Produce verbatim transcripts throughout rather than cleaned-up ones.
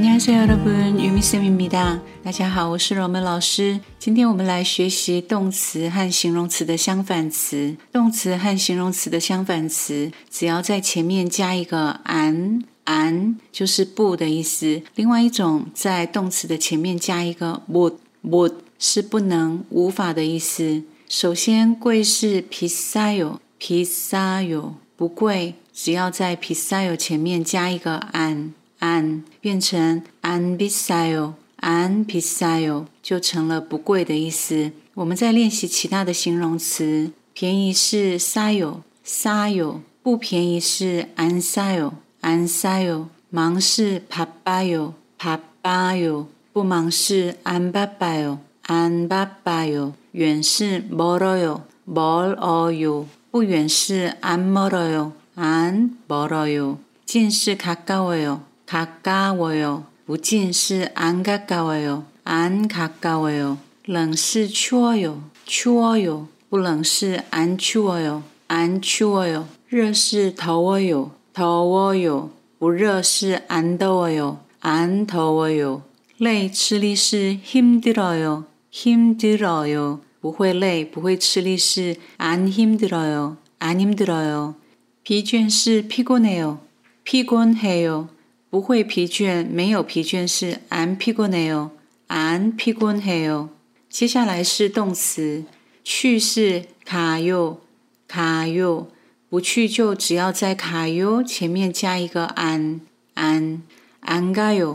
안녕하세요 여러분 유미쌤입니다。大家好，我是柔门老师。今天我们来学习动词和形容词的相反词。动词和形容词的相反词，只要在前面加一个 an an 就是不的意思。另外一种在动词的前面加一个 못 못是不能无法的意思。首先贵是 비싸요 비싸요不贵，只要在 비싸요前面加一个 an an 变成 안 비싸요 안 비싸요就成了不贵的意思。我们再练习其他的形容词，便宜是 싸요 싸요不便宜是 안 싸요 안 싸요忙是 바빠요 바빠요不忙是 안 바빠요 안 바빠요远是 멀어요 멀어요不远是 안 멀어요 안 멀어요近是 가까워요 가까워요不近是 안 가까워요 안 가까워요冷是 추워요 추워요不冷是 안 추워요 안 추워요热是 더워요 더워요不热是 안 더워요 안 더워요累吃力是 힘들어요 힘들어요不会累不会吃力是 안 힘들어요 안 힘들어요疲倦是 피곤해요 피곤해요不会疲倦没有疲倦是 안 피곤해요 안 피곤해요接下来是动词去是 가요 가요不去就只要在 가요 前面加一个 안 안 안 가요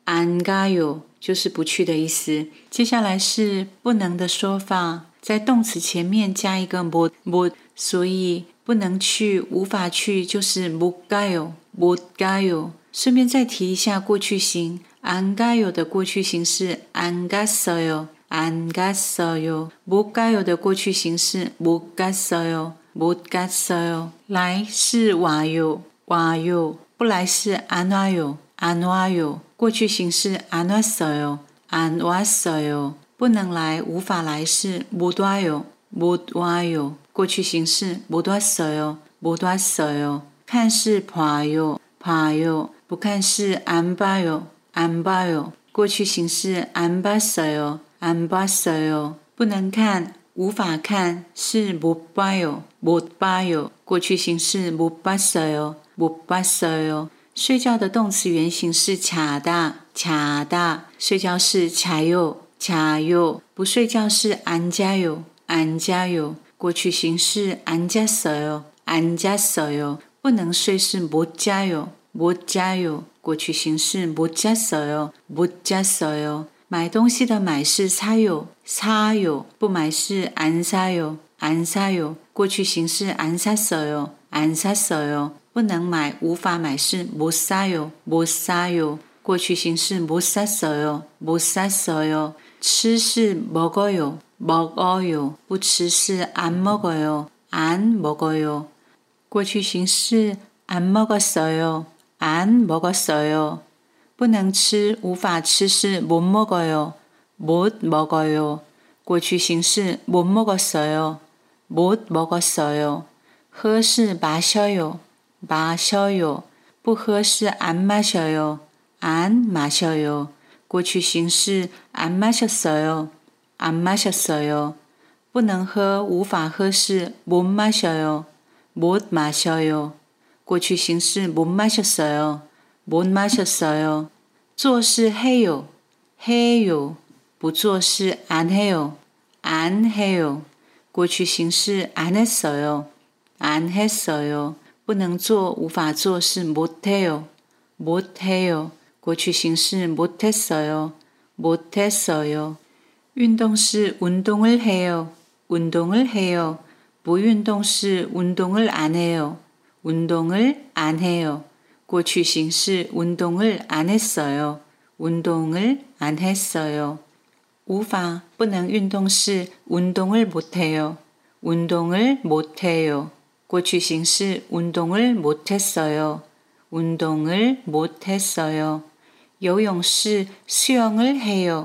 안 가요就是不去的意思。接下来是不能的说法，在动词前面加一个 못 못所以不能去无法去就是 못 가요 못 가요顺便再提一下过去形 안 가요 的过去形是 안 갔어요 안 갔어요 못 가요 的过去形是 못 갔어요 못 갔어요来是 와요 와요不来是 안 와요 안 와요过去形是 안 왔어요 안 왔어요不能来无法来是 못 와요 못 와요过去形是 못 왔어요 못 왔어요看是 봐요 봐요不看是 안 봐요 안 봐요过去形是 안 봤어요 안 봤어요不能看无法看是 못 봐요 못 봐요过去形是 못 봤어요 못 봤어요睡觉的动词原形是 자다 자다睡觉是 자요 자요不睡觉是 안 자요 안 자요过去形是 안 잤어요 안 잤어요不能睡是 못 자요 못 자요过去形是 못 잤어요 못 잤어요买东西的买是 사요 사요不买是 안 사요 안 사요过去形是 안 샀어요 안 샀어요不能买无法买是 못 사요 못 사요过去形是 못 샀어요 못 샀어요吃是 먹어요 먹어요不吃是 안 먹어요 안 먹어요过去形是 안 먹었어요 안 먹었어요不能吃无法吃是 못 먹어요 못 먹어요过去形是 못 먹었어요 못 먹었어요喝是 마셔요 마셔요不喝是 안 마셔요 안 마셔요过去形是 안 마셨어요 안 마셨어요不能喝无法喝是 못 마셔요 못 마셔요过去形是 못 마셨어요 못 마셨어요做是 해요 해요不做是 안 해요 안 해요过去形是 안 했어요 안 했어요不能做无法做是 못 해요 못 해요过去形是 못 했어요 못 했어요运动是 운동을 해요 운동을 해요 不运动是 운동을 안 해요 운동을 안 해요过去形是 운동을 안 했어요 운동을 안 했어요 无法不能运动是 운동을 못 해요 운동을 못 해요过去形是 운동을 못 했어요 운동을 못 했어요 游泳是 수영을 해요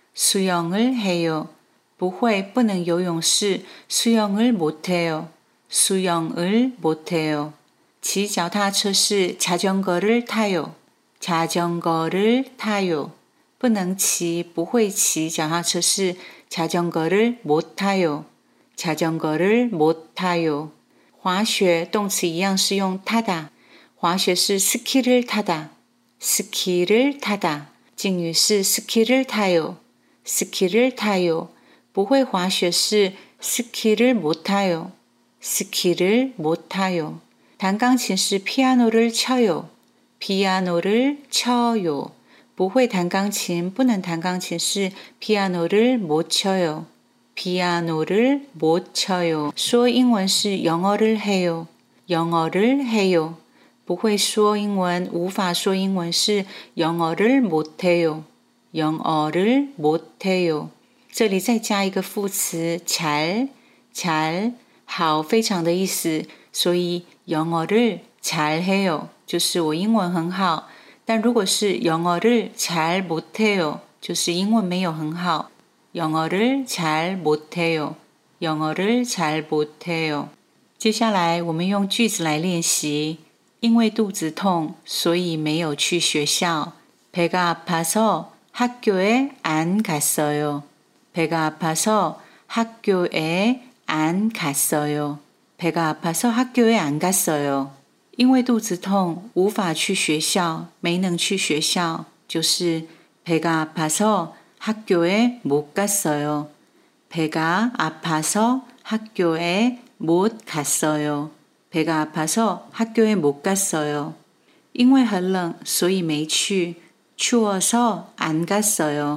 수영을 해요 不会不能游泳是 수영을 못 해요 수영을 못 해요 骑脚踏车是 자전거를 타요 자전거를 타요.不能骑，不会骑脚踏车是 자전거를 못 타요. 자전거를 못 타요. 滑雪动词一样是用 타다. 滑雪是 스키를 타다. 스키를 타다. 敬语是 스키를 타요. 스키를 타요. 不会滑雪是 스키를 못 타요. 스키를 못 타요. 弹钢琴是 피아노를 쳐요. 피아노를 쳐요. 不会弹钢琴，不能弹钢琴是 피아노를 못 쳐요. 피아노를 못 쳐요. 说英文是 영어를 해요. 영어를 해요. 不会说英文，无法说英文是 영어를 못 해요. 영어를 못 해요. 这里再加一个副词 잘, 잘, 好，非常的意思，所以 영어를 잘 해요. 就是我英文很好。但如果是 영어를 잘 못해요, 就是英文没有很好。영어를 잘 못해요, 영어를 잘 못해요. 接下来我们用句子来练习。因为肚子痛，所以没有去学校。배가 아파서 학교에 안 갔어요. 배가 아파서 학교에 안 갔어요. 배가 아파서 학교에 안 갔어요. 因为肚子痛，无法去学校，没能去学校，就是 배가 아파서 학교에 못 갔어요. 배가 아파서 학교에 못 갔어요. 배가 아파서 학교에 못 갔어요. 因为很冷，所以没去。추워서 안 갔어요.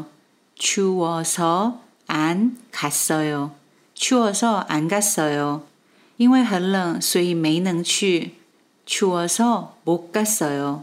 추워서 안 갔어요. 추워서 안 갔어요. 因为很冷，所以没能去。추워서 못 갔어요.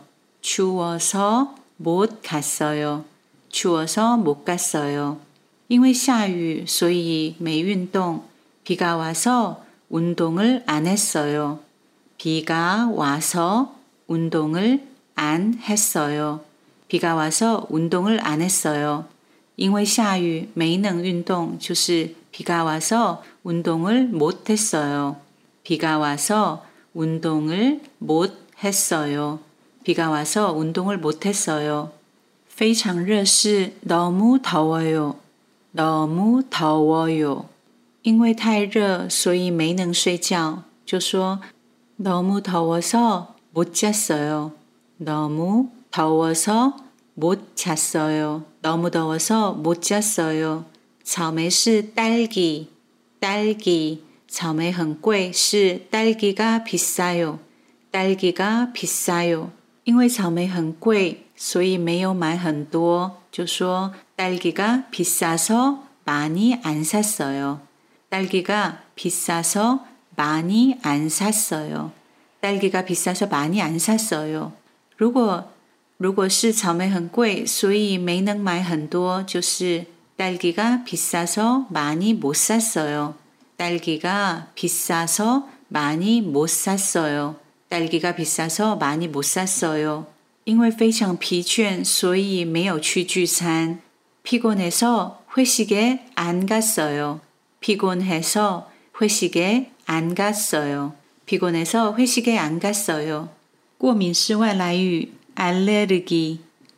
추워서 못 갔어요. 추워서 못 갔어요. 因为下雨，所以没运动。비가 와서 운동을 안 했어요. 비가 와서 운동을 안 했어요. 비가 와서 운동을 안 했어요. 因为下雨，没能运动，就是 비가 와서 운동을 못 했어요. 비가 와서 운동을 못 했어요. 비가 와서 운동을 못 했어요. 非常热是 너무 더워요. 너무 더워요. 因为太热，所以没能睡觉，就说 너무 더워서 못 잤어요. 너무 더워서 못 잤어요. 너무 더워서 못 잤어요. 草莓是 딸기, 딸기. 草莓很贵是 딸기가 비싸요. 딸기가 비싸요. 因为草莓很贵，所以没有买很多，就说 딸기가 비싸서 많이 안 샀어요. 딸기가 비싸서 많이 안 샀어요. 딸기가 비싸서 많이 안 샀어요. 如果如果是草莓很贵，所以没能买很多，就是 딸기가 비싸서 많이 못 샀어요. 딸기가 비싸서 많이 못 샀어요. 딸기가 비싸서 많이 못 샀어요. 因为非常疲倦，所以没有去聚餐。피곤해서 회식에 안 갔어요. 피곤해서 회식에 안 갔어요. 피곤해서 회식에 안 갔어요. 过敏是外来语 알레르기,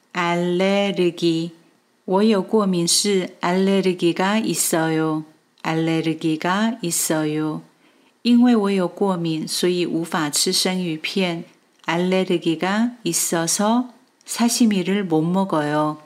알레르기. 我有过敏是 알레르기가 있어요. 알레르기가 있어요. 因为我有过敏，所以无法吃生鱼片。알레르기가 있어서 사시미를 못 먹어요.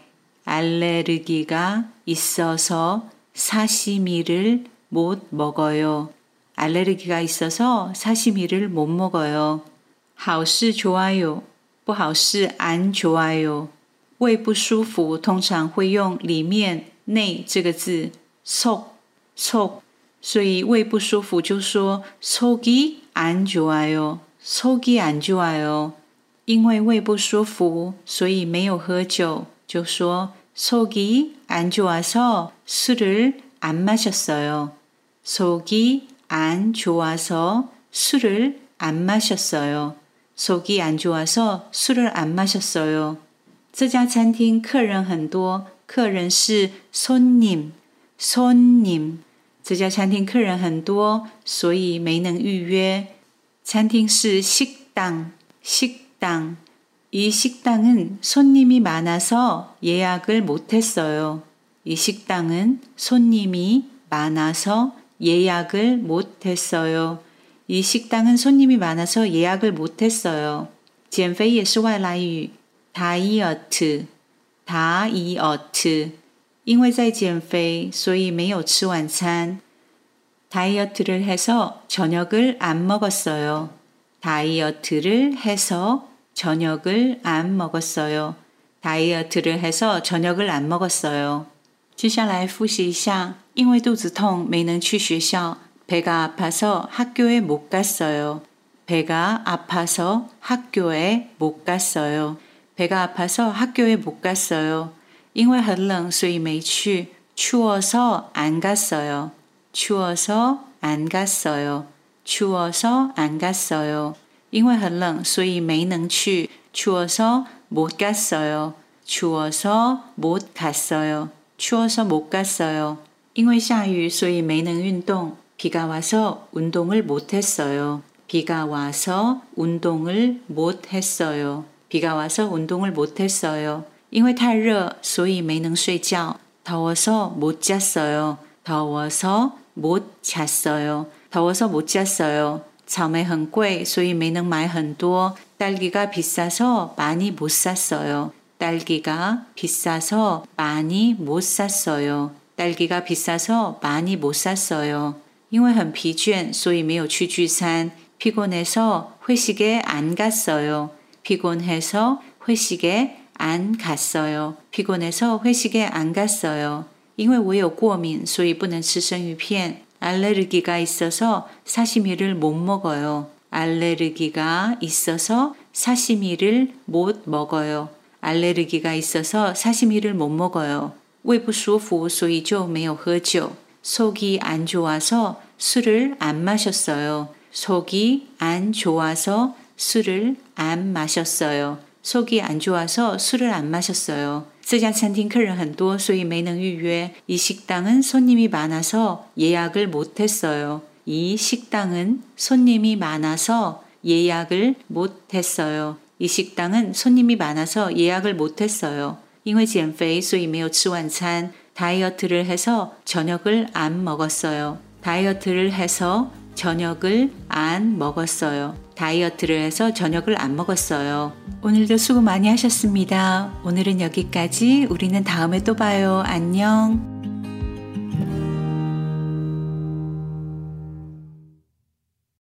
알레르기가 있어서 사시미를 못 먹어요. 알레르기가 있어서 사시미를 못 먹어요. 好是 좋아요, 不好是 안 좋아요. 胃不舒服通常会用里面内这个字 속, 속. 所以胃不舒服就说 속이 안 좋아요. 속이 안 좋아요. 因为胃不舒服，所以没有喝酒，就说 속이 안 좋아서 술을 안 마셨어요. 속이 안 좋아서 술을 안 마셨어요. 속이 안 좋아서 술을 안 마셨어요. 这家餐厅客人很多，客人是 손님, 손님. 这家餐厅客人很多，所以没能预约。餐厅是식당, 식당. 이 식당은 손님이 많아서 예약을 못했어요. 이 식당은 손님이 많아서 예약을 못했어요. 이 식당은 손님이 많아서 예약을 못했어요.减肥也是外来语 다이어트 다이어트 因为在减肥所以没有吃晚餐 다이어트를 해서 저녁을 안 먹었어요. 다이어트를 해서 저녁을 안 먹었어요. 다이어트를 해서 저녁을 안 먹었어요. 接下来复习一下因为肚子痛没能去学校 배가 아파서 학교에 못 갔어요. 배가 아파서 학교에 못 갔어요. 배가 아파서 학교에 못 갔어요. 因为很冷所以没去 추워서 안 갔어요. 추워서 안 갔어요. 추워서 안 갔어요. 因为很冷所以没能去 추워서 못 갔어요. 추워서 못 갔어요. 추워서 못 갔어요. 因为下雨所以没能运动 비가 와서 운동을 못 했어요. 비가 와서 운동을 못 했어요. 비가 와서 운동을 못 했어요. 因为太热所以没能睡觉 더워서 못 잤어요. 더워서 못 잤어요. 더워서 못 잤어요. 草莓很贵所以没能买很多 딸기가 비싸서 많이 못 샀어요. 딸기가 비싸서 많이 못 샀어요. 딸기가 비싸서 많이 못 샀어요. 因为很疲倦所以没有去聚餐 피곤해서 회식에 안 갔어요. 피곤해서 회식에 안 갔어요. 피곤해서 회식에 안 갔어요. 因为我有过敏所以不能吃生鱼片 알레르기가 있어서 사시미를 못 먹어요. 알레르기가 있어서 사시미를 못 먹어요. 알레르기가 있어서 사시미를 못 먹어요. 胃不舒服所以就没有喝酒 속이 안 좋아서 술을 안 마셨어요. 속이 안 좋아서 술을 안 마셨어요. 속이 안 좋아서 술을 안 마셨어요. 这家餐厅客人很多所以没能预约 이 식당은 손님이 많아서 예약을 못했어요. 이 식당은 손님이 많아서 예약을 못했어요. 이 식당은 손님이 많아서 예약을 못했어요. 因为减肥所以没有吃晚餐 다이어트를 해서 저녁을 안 먹었어요. 다이어트를 해서 저녁을 안 먹었어요. 다이어트를 해서 저녁을 안 먹었어요. 오늘도 수고 많이 하셨습니다. 오늘은 여기까지. 우리는 다음에 또 봐요. 안녕.